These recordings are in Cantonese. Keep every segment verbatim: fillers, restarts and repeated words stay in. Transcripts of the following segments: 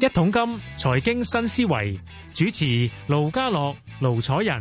一桶金財經新思維，主持盧家樂、盧楚仁。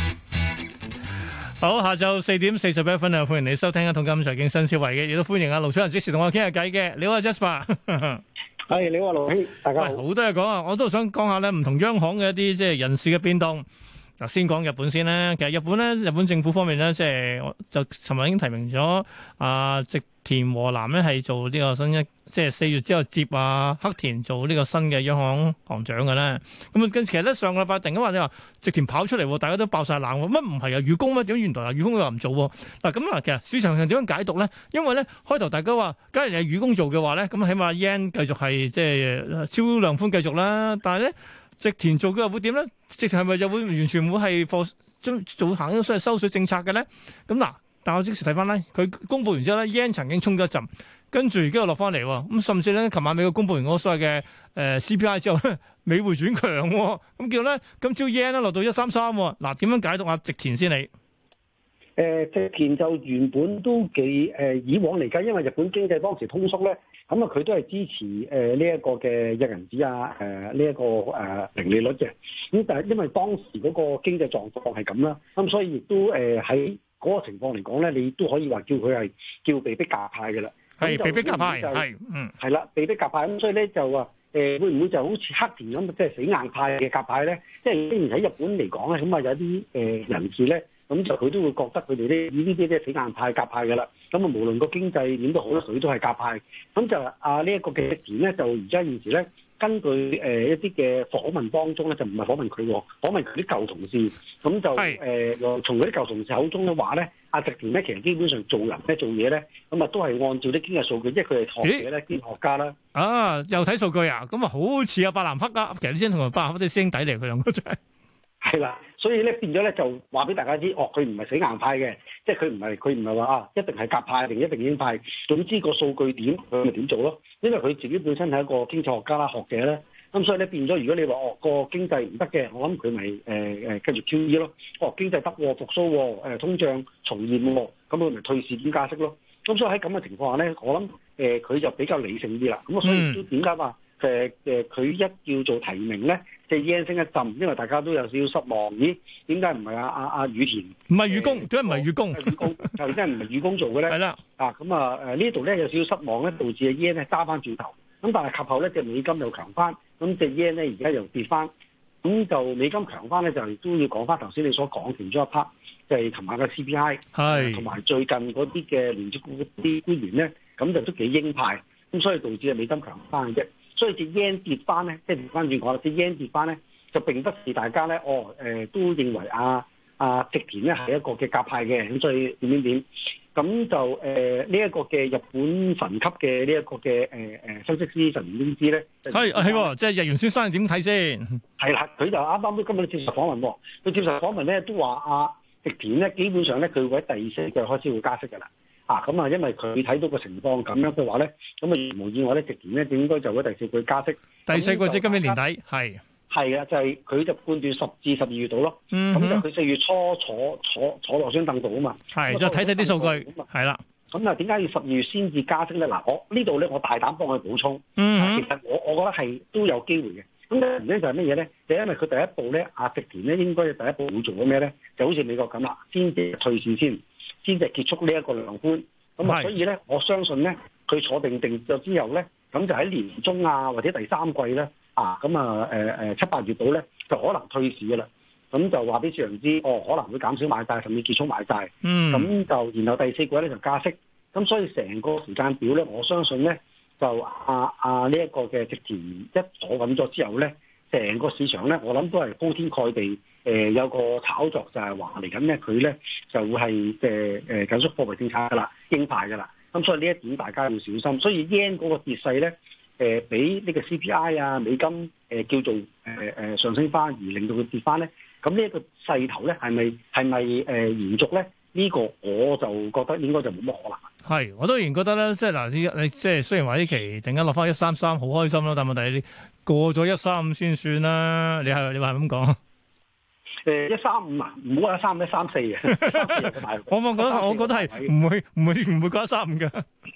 好，下晝四點四十一分啊！歡迎你收聽一桶金財經新思維嘅，亦都歡迎阿盧楚仁即時同我傾下偈嘅。你好啊 Jasper， 係你好啊盧兄，大家好。 好多嘢講啊！我都想講下咧，唔同央行嘅一啲即係人事嘅變動。嗱，先講日本先啦。其實日本咧，日本政府方面咧，即係就尋日已經提名咗啊，植田和男咧係做呢個新一，即係四月之後接啊黑田做呢個新嘅央行行長嘅咧。咁啊，跟其實咧上個禮拜突然間話你話植田跑出嚟，大家都爆晒冷喎。乜唔係啊？雨宮咩？點原來啊雨宮又唔做喎？嗱咁啊，其實市場上點樣解讀咧？因為咧開頭大家話，假如係雨宮做嘅話咧，咁起碼 yen 繼續係即係超量寬繼續啦。但係咧，植田做嘅又會點咧？植田係咪就會完全會係貨將做行咗所謂收水政策嘅咧？咁嗱，但我即時睇翻咧，佢公佈完之後咧 yen 曾經衝咗一陣，跟住而家又落翻嚟喎。咁甚至咧，琴晚美國公佈完嗰個所謂嘅誒 C P I 之後咧，美匯轉強喎。咁叫咧今朝 yen 咧落到一三三。嗱，點樣解讀啊？植田先你？ 誒植田就原本都幾誒、呃、以往嚟計，因為日本經濟當時通縮咧，咁啊佢都係支持誒呢一個嘅印銀紙啊，誒呢一個誒零利率嘅。咁但係因為當時嗰個經濟狀況係咁啦，咁所以亦都誒喺嗰個情況嚟講咧，你都可以話叫佢係叫被逼鴿派嘅啦。 係被逼鴿派，係嗯係啦，被逼鴿派。咁所以咧就話誒、呃、會唔會就好似黑田咁，即係死硬派嘅鴿派咧？即係雖然喺日本嚟講咧，咁啊有啲誒人士咧。咁就佢都會覺得佢哋呢呢啲咧死硬派鴿派嘅啦。咁啊，無論個經濟點都好，佢都係鴿派。咁就啊呢一個嘅植田咧，就而家現時咧，根據誒、呃、一啲嘅訪問當中咧，就唔係訪問佢，訪問佢啲舊同事。咁就誒又、呃、從嗰啲舊同事口中嘅話咧，阿植田咧其實基本上做人咧做嘢咧，咁啊都係按照啲經濟數據，即係佢係學者咧，經濟學家啦。 啊，又睇數據啊？咁啊，好似阿伯南克啊，其實你真同阿伯南克啲師兄弟嚟，佢兩個真係。 係啦，所以咧變咗咧就話俾大家知，哦，佢唔係死硬派嘅，即係佢唔係佢唔係話啊一定係鴿派定一定鷹派，總之個數據點佢咪點做咯。因為佢自己本身係一個經濟學家啦、學者咧，咁所以咧變咗，如果你話哦個經濟唔得嘅，我諗佢咪誒誒跟住 Q E 咯。哦，經濟得喎，復甦喎，誒通脹重現喎，咁佢咪退市點加息咯。咁所以喺咁嘅情況下咧，我諗誒佢就比較理性啲啦。咁啊，所以都點解話誒誒佢一叫做提名咧？即係 yen 升一陣，因為大家都有少少失望。咦？點解唔係阿阿阿羽田？ 唔係羽宮，點解唔係羽宮？ 羽宮就真係唔係羽宮做嘅咧？係啦。啊，咁啊誒呢度咧有少少失望咧，導致阿 yen 咧揸翻轉頭。咁但係及後咧隻美金又強翻，咁隻 yen 咧而家又跌翻。咁就美金強翻咧，就都要講翻頭先你所講其中一 part，就係琴晚嘅 C P I，係同埋最近嗰啲嘅聯儲局啲官員咧，咁就都幾鷹派。咁所以導致啊美金強翻嘅啫。所以隻 yen 跌翻咧，即係調翻轉講啦，隻 yen 跌翻咧，就並不是大家咧，哦誒、呃、都認為啊啊植田咧係一個嘅鴿派嘅，咁所以點點點，咁就誒呢一個嘅日本神級嘅呢一個嘅誒誒分析師神田英之咧， 係係喎，即係日元先生點睇先？係啦，佢就啱啱都今日接受訪問喎，佢接受訪問咧都話啊植田咧基本上咧佢會喺第四季開始會加息㗎啦。啊，咁啊，因為佢睇到個情況咁樣嘅話咧，咁啊無意外咧，植田咧應該就會第四季加息。 第四季即係今年年底，係係啊，就係、是、佢就判斷十至十二月度咯。咁、嗯、就佢四月初坐坐坐落張凳度啊嘛。係， 再睇睇啲數據。係啦。 咁啊，點解要十二月先至加息咧？嗱，我呢度咧，我大膽幫佢補充。 嗯、 啊。其實我我覺得係都有機會嘅。咁咧咧就係乜嘢咧？就因為佢第一步咧，阿植田咧應該第一步會做咗咩咧？就好似美國咁啦，先至退市先，先至結束呢一個量寬。咁啊，所以咧，我相信咧，佢坐定定咗之後咧，咁就喺年中啊，或者第三季咧，啊，咁啊，誒誒七八月度咧，就可能退市嘅啦。咁就話俾市場知，哦，可能會減少買債，甚至結束買債。嗯。咁就然後第四季咧就加息。咁所以成個時間表咧，我相信咧，就啊啊呢一個嘅植田一坐穩咗之後咧，成個市場咧，我諗都係鋪天蓋地，誒、呃、有個炒作就係話嚟緊咧，佢咧就會係誒誒緊縮貨幣政策噶啦，鷹派噶啦。咁所以呢一點大家要小心。所以 yen 嗰個跌勢咧，誒、呃、比呢個 C P I 啊美金誒、呃、叫做誒誒、呃、上升翻，而令到佢跌翻咧。咁呢一個勢頭咧係咪係咪誒延續咧？呢、這個我就覺得應該就冇乜可能。 係，我都仍然覺得咧，即係嗱，你你即係雖然話呢期突然間落翻一三三，好開心咯，但係問題你過咗一三五先算啦。你係你話係咁講？誒一三五啊，唔好話一三五一三四嘅。我我覺得我覺得係唔會唔會唔會過一三五嘅。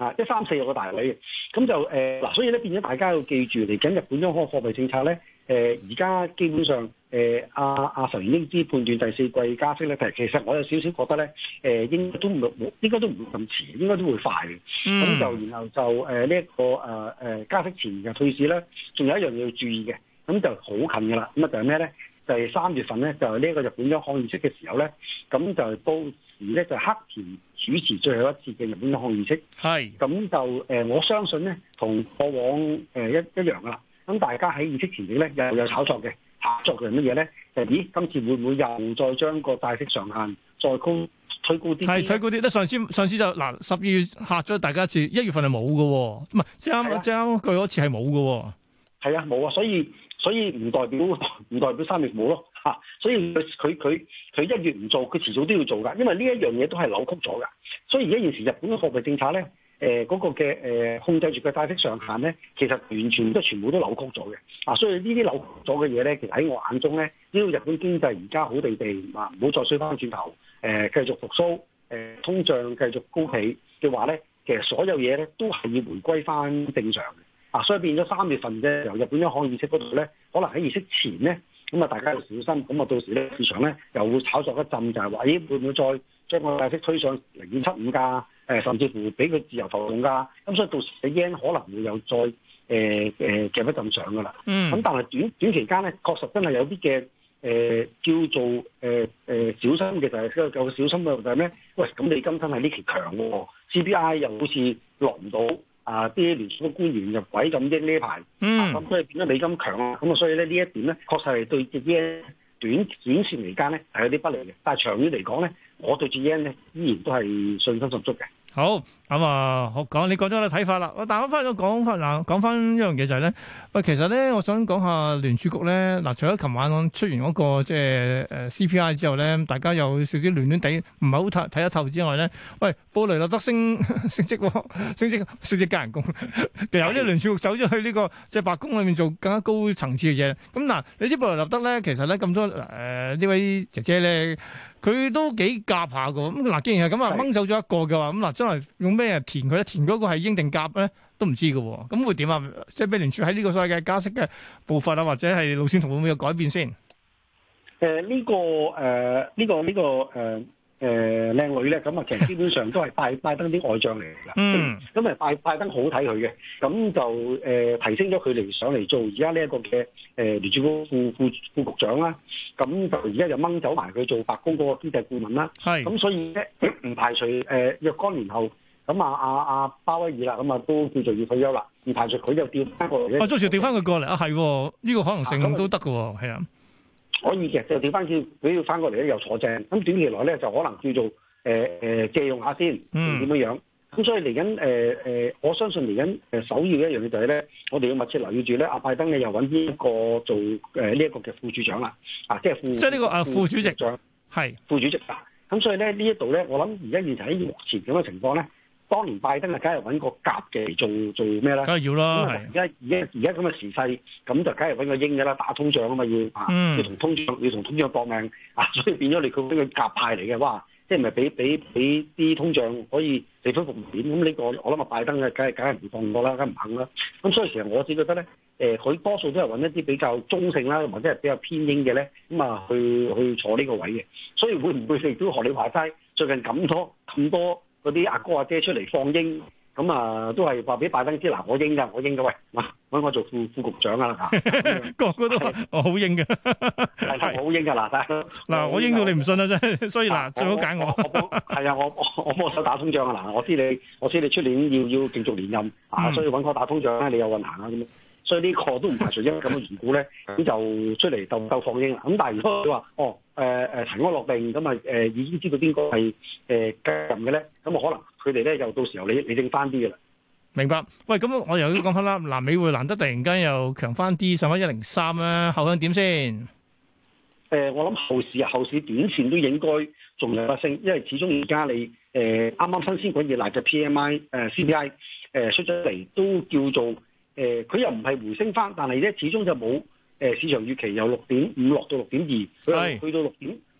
啊，一三四有個大位嘅，咁就誒嗱、呃，所以咧變咗大家要記住，嚟緊日本央行貨幣政策咧，誒而家基本上誒阿阿神原英之判斷第四季加息咧，其實我有少少覺得咧，誒、呃、應該都唔冇，應該都唔會咁遲，應該都會快嘅。咁、嗯、就然後就誒呢一個誒誒、呃、加息前嘅退市咧，仲有一樣嘢要注意嘅，咁就好近㗎啦。咁啊就係咩咧？就係、是、三月份咧，就係呢一個日本央行議息嘅時候咧，咁就到時咧就黑田主持最後一次嘅日本央行議息。係，咁就誒、呃、我相信咧，同過往誒、呃、一一樣噶啦。咁大家喺議息前夕咧，又有炒作嘅，炒作嘅係乜嘢咧？就咦，今次會唔會又再將個債息上限再高推高啲？係推高啲。咧上次上次就嗱十二月嚇咗大家一次，一月份係冇嘅喎，唔係即係啱即係啱句嗰次係冇嘅喎。係啊，冇啊，所以所以唔代表唔代表三月冇咯嚇，所以佢佢佢佢一月唔做，佢遲早都要做㗎，因為呢一樣嘢都係扭曲咗㗎。所以而家現時日本嘅貨幣政策咧，誒、呃、嗰、那個嘅誒、呃、控制住嘅債息上限咧，其實完全都全部都扭曲咗嘅。啊，所以呢啲扭曲咗嘅嘢咧，其實喺我眼中咧，只要日本經濟而家好地地啊，唔好再衰翻轉頭，誒、呃、繼續復甦，誒、呃、通脹繼續高企嘅話咧，其實所有嘢咧都係要回歸翻正常嘅。啊，所以變咗三月份嘅由日本央行議息嗰度咧，可能喺議息前咧，咁啊大家要小心，咁啊到時咧市場咧又會炒作一陣，就係話咦會唔會再將個債息推上零點七五㗎？誒甚至乎俾佢自由浮動㗎？咁所以到時嘅 yen 可能會有再誒誒夾一陣上㗎啦。嗯。咁但係短短期間咧，確實真係有啲嘅誒叫做誒誒、呃呃、小心嘅就係、是、個小心嘅就係咩？喂，咁你今真係呢期強喎、哦、，C P I 又好似落唔到。啊！啲聯儲局官員就鬼咁益呢一排，嗯，咁、啊、所以變咗美金強啊，咁啊，所以咧呢一點咧，確實係對隻 yen 短短線嚟間咧係有啲不利嘅，但係長遠嚟講咧，我對隻 yen 咧依然都係信心十足嘅。好，咁啊，好講，你講咗你睇法啦。我但係我翻咗講翻嗱，講翻一樣嘢就係、是、咧，喂，其實咧，我想講下聯儲局咧，嗱，除咗琴晚出完嗰、那個即係誒 C P I 之後咧，大家有少少亂亂地，唔係好睇睇得透之外咧，喂，布雷納德升升職、哦，升職升職加人工，有啲聯儲局走咗去呢、這個即係、就是、白宮裏面做更加高層次嘅嘢。咁嗱，你知布雷納德咧，其實咧咁多誒呢、呃、位姐姐咧。佢都幾夾下㗎，咁嗱，既然係咁啊，掹走咗一個嘅話，咁嗱，將來用咩填佢咧？填嗰個係鷹定鴿咧，都唔知㗎喎，咁會點啊？即係美聯儲喺呢個所謂嘅加息嘅步伐啊，或者係路線圖會唔會有改變先？誒、呃，呢、這個誒，呢、呃這個呢、這個誒。呃誒、呃、靚女咧，咁啊其實基本上都係拜拜登啲外將嚟㗎，嗯，咁啊拜拜登好睇佢嘅，咁就誒、呃、提升咗佢嚟上嚟做而家呢一個嘅誒聯儲局副副副局長啦，咁就而家就掹走埋佢做白宮嗰個經濟顧問啦，係，咁所以咧唔排除誒、呃、若干年後，咁啊啊啊鮑威爾啦，咁啊都叫做要退休啦，唔排除佢就調翻過嚟咧，啊，到時調翻佢過嚟啊，係喎，呢個可能性都得㗎喎，係啊。可以嘅，就調翻叫佢要翻過嚟咧，又坐正。咁短期內咧，就可能叫做誒誒、呃、借用下先，點樣樣？咁所以嚟緊誒誒，我相信嚟緊誒首要一樣嘢就係咧，我哋要密切留意住咧，阿拜登咧又揾呢一個做誒呢一個嘅副主長啦，啊，即係副即係呢個啊副主席長係副主席啊。咁所以咧呢一度咧，我諗而家現時喺目前咁嘅情況咧。當年拜登啊，梗係揾個鴿嘅嚟做做咩咧？梗係要啦。而家而家而家咁嘅時勢，咁就梗係揾個鷹嘅啦，打通脹啊嘛，要啊、嗯，要同通脹要同通脹搏命啊，所以變咗你佢俾佢鴿派嚟嘅，哇！即係咪俾俾俾啲通脹可以地方復點？咁呢個我諗啊，拜登嘅梗係梗係唔放過啦，梗係唔肯啦。咁所以其實我自己覺得咧，誒、呃，佢多數都係揾一啲比較中性啦，或者係比較偏鷹嘅咧，咁啊去去坐呢個位嘅。所以會唔會亦都學你話齋，最近咁多咁多？嗰啲阿哥阿姐出嚟放鷹，咁啊都係話俾拜登知，嗱我鷹㗎，我鷹㗎，喂，嗱揾我做副副局長啊，個個都話我好鷹嘅，係我好鷹㗎，嗱嗱我鷹到你唔信啊真，所以嗱最好揀我，係啊，我我我幫手打通脹啊，嗱我知你我知你出年要要繼續連任啊，所以揾我打通脹咧，你有運行啊咁。所以呢個都唔排除因為咁嘅緣故咧，咁就出嚟鬥鬥放鷹啦。咁但係如果你話哦誒誒塵埃落定，咁啊誒已經知道邊個係誒繼任嘅咧，咁啊可能佢哋咧又到時候理理正翻啲嘅啦。明白。喂，咁我又要講翻啦。嗱，美匯難得突然間又強翻啲，上翻一零三啦，後向點先？誒、呃，我諗後市啊，後市短線都應該仲有一升，因為始終而家你誒啱啱新鮮滾熱辣嘅 P M I 誒、呃、C P I 誒、呃、出咗嚟都叫做。誒佢、呃、又唔係回升翻，但係咧始終就冇誒、呃、市場預期由六點五落到六點二，佢去到六點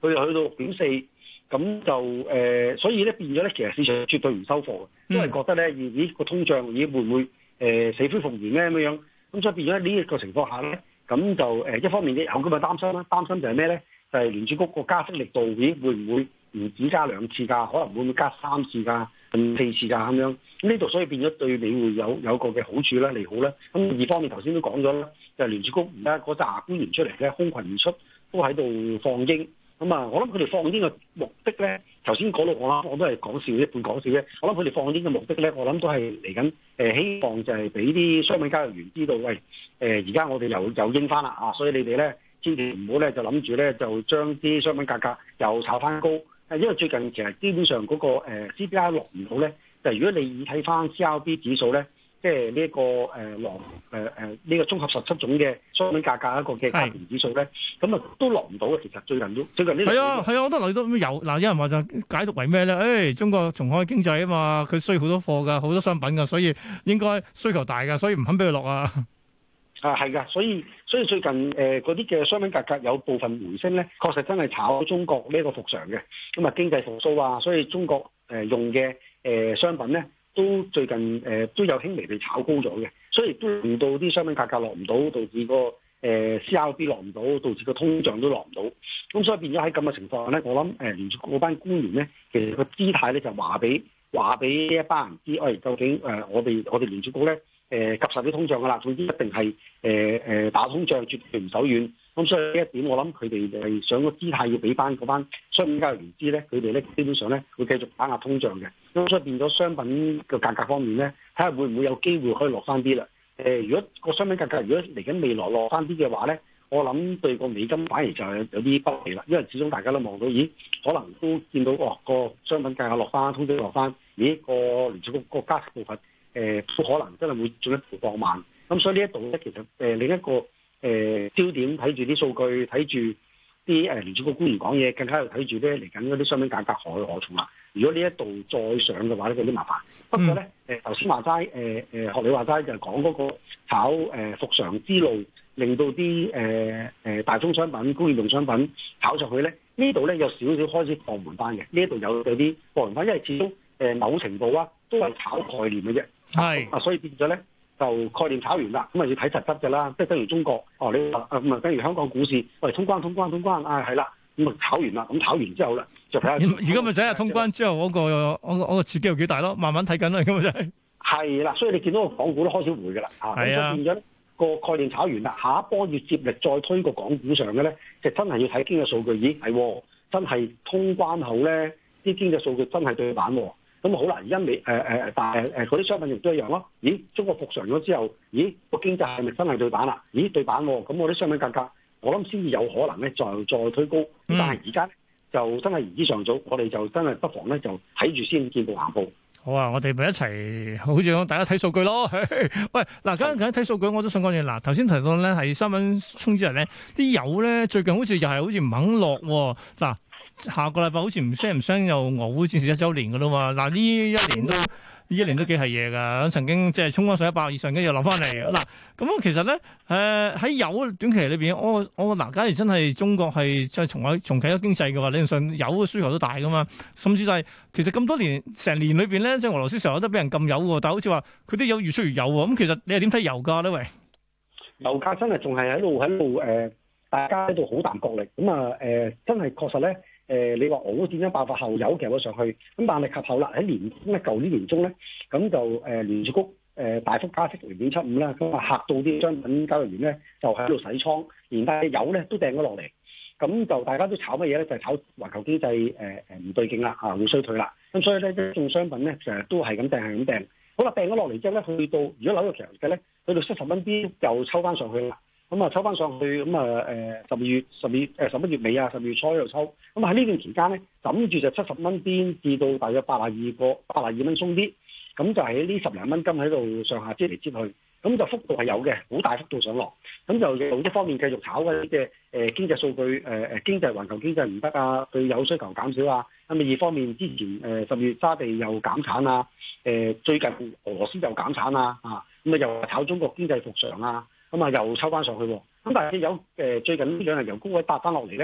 佢又去到六點四，咁就誒、呃，所以咧變咗咧，其實市場絕對唔收貨嘅，因為覺得咧，咦個通脹咦會唔會誒、呃、死灰復燃咧咁樣？咁所以變咗呢一個情況下咧，咁就誒、呃、一方面有咁嘅擔心啦，擔心就係咩咧？就係、是、聯儲局個加息力度咦會唔會唔止加兩次㗎？可能會唔會加三次㗎？嗯，四次㗎咁樣，咁呢度所以變咗對美匯有有個嘅好處啦，利好啦。咁二方面頭先都講咗啦，就係、聯儲局而家嗰紮官員出嚟咧，空群而出，都喺度放鷹。咁啊，我諗佢哋放鷹嘅目的咧，頭先講到我啦，我都係講笑一半講笑啫。我諗佢哋放鷹嘅目的咧，我諗都係嚟緊誒，希望就係俾啲商品交易員知道，喂誒，而家我哋又又鷹翻啦啊，所以你哋咧千祈唔好咧就諗住咧就將啲商品價格又炒翻高。因為最近其實基本上嗰個 C P I 落唔到咧，就如果你睇翻 C R B 指數咧，即係呢一個誒落誒誒呢個綜合十七種嘅商品價格一個嘅加權指數咧，咁啊都落唔到嘅。其實最近都最近呢係啊係啊，我都留意到有嗱，有人話就解讀為咩咧？誒、哎，中國重開經濟啊嘛，佢需要好多貨㗎，好多商品㗎，所以應該需求大㗎，所以唔肯俾佢落啊。 啊，係噶，所以所以最近誒嗰啲嘅商品價格有部分回升咧，確實真係炒中國呢一個復常嘅，咁啊經濟復甦啊，所以中國誒、呃、用嘅誒、呃、商品咧都最近誒、呃、都有輕微地炒高咗嘅，所以都令到啲商品價格落唔到，導致個誒、呃、C R B 落唔到，導致個通脹都落唔到，咁所以變咗喺咁嘅情況下咧，我諗誒聯儲局嗰班官員咧，其實個姿態咧就話俾話俾呢一班人知，喂、哎，究竟誒、呃、我哋我哋聯儲局咧。誒及實啲通脹㗎啦，總之一定係誒誒打通脹，絕對唔手軟。咁所以呢一點，我諗佢哋係想個姿態要俾翻嗰班商品交易員知咧，佢哋咧基本上咧會繼續打壓通脹嘅。咁所以變咗商品嘅價格方面咧，睇下會唔會有機會可以落翻啲啦。誒、呃，如果個商品價格如果嚟緊未來落翻啲嘅話咧，我諗對個美金反而就係有啲不利啦，因為始終大家都望到，咦，可能都見到哦個商品價格落翻，通脹落翻，咦個聯儲局個加息部分。誒都、呃、可能真係會進一步放慢，咁所以呢一度咧，其實誒、呃、另一個誒、呃、焦點睇住啲數據，睇住啲誒聯儲局官員講嘢，更加要睇住咧嚟緊嗰啲商品價格何去何從啦。如果呢一度再上嘅話咧，有啲麻煩。不過咧，誒頭先話齋，誒誒學你話齋就係講嗰個炒誒、呃、復常之路，令到啲誒誒大宗商品、工業用商品炒上去咧，呢度咧有少少開始放緩翻嘅。呢一度有有啲放緩翻，因為始終誒、呃、某程度啊都係炒概念嘅啫。係啊，所以變咗咧就概念炒完啦，咁啊要睇實質嘅啦，即係等於中國哦，你話啊咁啊，等於香港股市，喂通關通關通關啊，係啦，咁啊炒完啦，咁炒完之後啦，就睇下而家咪睇下通關之後嗰、嗰個嗰、嗰個嗰個刺激有幾大咯，慢慢睇緊啦，咁啊真係係啦，所以你見到個港股都開始回嘅啦，啊，咁啊變咗個概念炒完啦，下一波要接力再推個港股上嘅咧，就真係要睇經濟數據，咦係真係通關後咧，啲經濟數據真係對版喎。咁好啦，而家未誒誒，但係誒嗰啲商品亦都一樣咯。咦，中國復常咗之後，咦個經濟係咪真係對版啦？咦對版喎，咁我啲商品價格，我諗先至有可能咧，再再推高。嗯、但係而家咧就真係言之尚早，我哋就真係不妨咧就睇住先，見步行步。好啊，我哋咪一齊，好似講大家睇數據咯。喂，嗱，咁緊睇數據，我都想講嘢。嗱，頭先提到咧係三蚊衝之日咧，啲油咧最近好似又係好似唔肯落喎。嗱。下個禮拜好似唔聲唔聲又俄烏戰事一週年噶啦嘛，嗱呢一年都呢一年都幾係嘢噶，曾經即係衝翻上一百以上，跟住又落翻嚟。嗱咁其實咧，誒、呃、喺油短期裏邊，我我嗱，假如真係中國係再重開重啟咗經濟嘅話，理論上油嘅需求都大噶嘛，甚至就係、是、其實咁多年成年裏邊咧，即係俄羅斯成日都俾人禁油喎，但係好似話佢啲油越出越有喎，咁其實你係點睇油價咧？喂，油價真係仲係喺度喺度誒，大家喺度好淡角力，咁啊誒，真係確實咧。誒、呃，你話俄烏戰爭爆發後有夾咗上去，咁但係及後啦喺年中咧，舊年年中咧，咁就誒、呃、聯儲局誒、呃、大幅加息零點七五啦，咁啊嚇到啲商品交易員咧就喺度洗倉，連帶油咧都掟咗落嚟，咁就大家都炒乜嘢咧？就係、是、炒環球經濟誒誒唔對勁啦，啊會衰退啦，咁所以咧一眾商品咧成日都係咁掟係咁掟，好啦掟咗落嚟之後咧，去到如果紐約期油嘅咧，去到七十蚊邊又抽翻上去啦。咁啊抽翻上去，咁啊誒十二月十二誒十一月尾啊，十二月初喺度抽，咁喺呢段期間咧，枕住就七十蚊邊至到大約八十二個八十二蚊鬆啲，咁就喺呢十零蚊金喺度上下擠嚟擠去，咁就幅度係有嘅，好大幅度上落，咁就用一方面繼續炒嗰啲嘅誒經濟數據誒誒經濟環球經濟唔得啊，對有需求減少啊，咁啊二方面之前誒十月沙地又減產啊，誒最近俄羅斯又減產啊，啊咁啊又炒中國經濟復常啊。咁啊，又抽翻上去喎。咁但係有誒最近呢兩日由高位搭翻落嚟咧，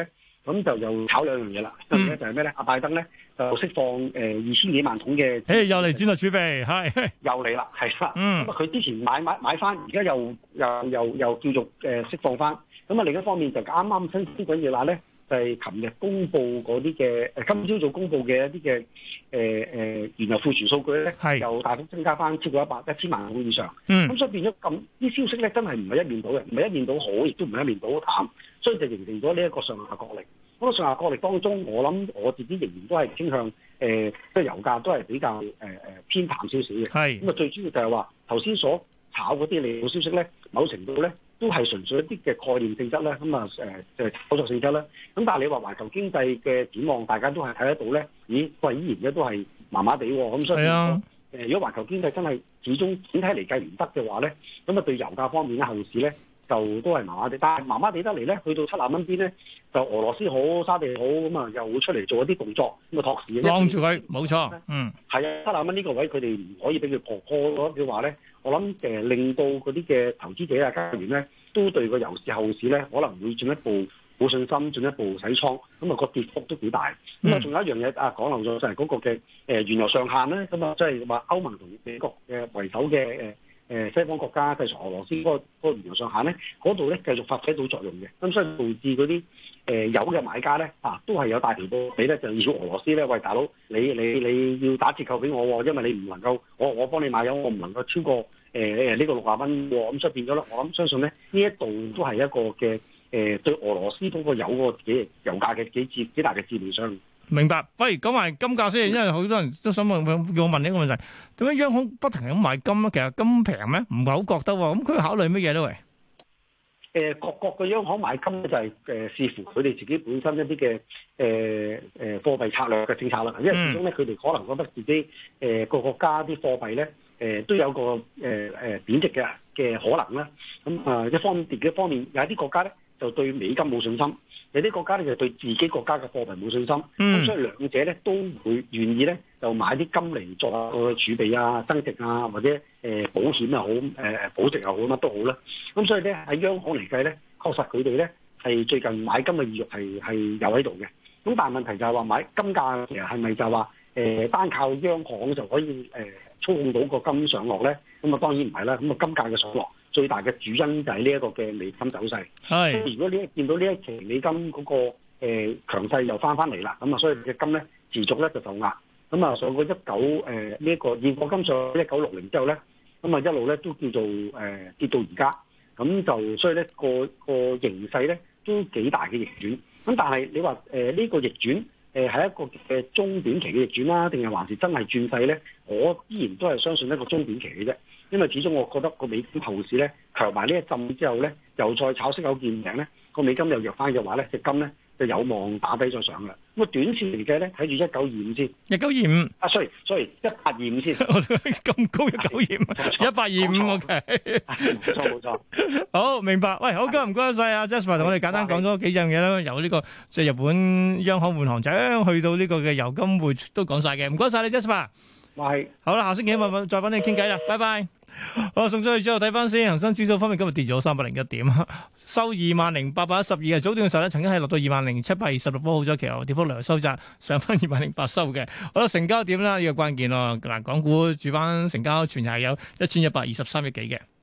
咁就又炒兩樣嘢啦。一樣嘢就係咩咧？阿拜登咧就釋放誒二千幾萬桶嘅， 誒又嚟戰略儲備，係又嚟啦，係啦。 嗯， 咁啊佢之前買買買翻，而家又又又又叫做誒釋放翻。咁啊另一方面就啱啱新鮮滾熱辣咧。就係琴日公布嗰啲嘅，誒今朝早公布嘅一啲嘅誒誒原油庫存數據咧，又大幅增加翻超過一百一千萬桶以上。嗯，咁所以變咗咁啲消息咧，真係唔係一面倒嘅，唔係一面倒好，亦都唔係一面倒淡，所以就形成咗呢一個上下角力。咁個上下角力當中，我諗我自己仍然都係傾向誒，即、呃、係油價都係比較誒誒、呃、偏淡少少嘅。係咁啊，最主要就係話頭先所炒嗰啲利好消息咧，某程度咧。都係純粹一啲嘅概念性質咧，咁啊誒即係炒作性質啦。咁但係你話環球經濟嘅展望，大家都係睇得到咧。咦，喂，依然咧都係麻麻地喎。咁所以誒，如果環球經濟真係始終整體嚟計唔得嘅話咧，咁啊對油價方面咧後市咧就都係麻麻地。但係麻麻地得嚟咧，去到七十蚊邊咧，就俄羅斯好、沙地好，咁啊又會出嚟做一啲動作，咁啊托市。 晾住佢，冇錯。嗯， 係啊，七十蚊呢個位佢哋唔可以俾佢破破嘅話咧。我諗誒、呃、令到嗰啲嘅投資者啊、交易員咧，都對個油市後市咧可能會進一步冇信心，進一步洗倉，咁、那、啊個跌幅都幾大。咁啊仲有一樣嘢啊講漏咗就係嗰個嘅誒、呃、原油上限咧，咁啊即係話歐盟同美國嘅為首嘅誒誒西方國家制裁俄羅斯嗰、那個那個原油上限咧，嗰度咧繼續發揮到作用嘅。咁所以導致嗰啲誒油嘅買家咧啊，都係有大條道理咧，就要俄羅斯咧，喂大佬，你你你要打折扣俾我喎，因為你唔能夠我我幫你買油，我唔能夠超過。誒誒呢個六十蚊喎，咁所以變咗咧，我諗相信咧呢一度都係一個嘅誒、呃、對俄羅斯嗰個油個幾油價嘅幾節幾大嘅致命傷。 明白。喂，講埋金價先，因為好多人都想問，叫我問呢個問題，點解央行不停咁買金咧？其實金平咩？唔係好覺得喎。咁佢考慮乜嘢咧？喂？ 誒各國嘅央行買金咧就係、是、誒、呃、視乎佢哋自己本身一啲嘅誒誒貨幣策略嘅政策啦。因為始終咧佢哋可能覺得自己誒、呃、個國家啲貨幣咧誒、呃、都有個誒誒、呃、貶值嘅嘅可能啦。咁、嗯、啊、呃、一方面跌嘅方面，有啲國家咧就對美金冇信心，有啲國家咧就對自己國家嘅貨幣冇信心。咁、嗯、所以兩者咧都會願意咧就買啲金嚟作個儲備啊、增值啊，或者誒、呃、保險又好、誒、呃、保值又好，乜都好啦。咁所以咧喺央行嚟計咧，確實佢哋咧係最近買金嘅意欲係係有喺度嘅。咁但係問題就係話買金價其實係咪就係話誒單靠央行就可以誒、呃、操控到個金上落咧？咁啊當然唔係啦。咁啊金價嘅上落最大嘅主因就係呢一個嘅美金走勢。係。如果你見到呢一期美金嗰、那個誒、呃、強勢又翻翻嚟啦，咁啊所以嘅金咧持續咧就受壓。咁啊上過一九誒呢一個現貨金上一九六零之後咧，咁啊一路咧都叫做誒、呃、跌到而家。咁就所以咧個個形勢咧都幾大嘅逆轉。咁但係你話誒呢個逆轉誒係一個嘅中短期嘅逆轉啦，定係還是真係轉勢咧？我依然都係相信一個中短期嘅啫。因為始終我覺得個美金後市咧強埋呢一陣之後咧，又再炒息口見頂咧，個美金又弱翻嘅話咧，隻金咧就有望打低再上嘅。咁啊短線嚟計咧，睇住一九二五先， 一九二五啊 ，sorry sorry，一八二五先， 咁高一九二五，一八二五 OK， 冇錯冇錯， 好明白。喂，好，今日唔該晒啊 Jasper 同我哋簡單講咗幾樣嘢啦，由呢個即係日本央行換行長去到呢個嘅油金匯都講晒嘅，唔該晒你 Jasper。 係， 好啦，下星期一晚再揾你傾偈啦，拜拜。好，送咗去之後睇翻先，恒生指數方面今日跌咗三百零一點，收二萬零八百一十二嘅。早段嘅時候咧，曾經係落到二萬零七百二十六，波好咗，其後跌幅略收窄，上翻二萬零八收嘅。好啦，成交點啦，呢個關鍵咯。嗱，港股主板成交全日係有一千一百二十三億幾嘅。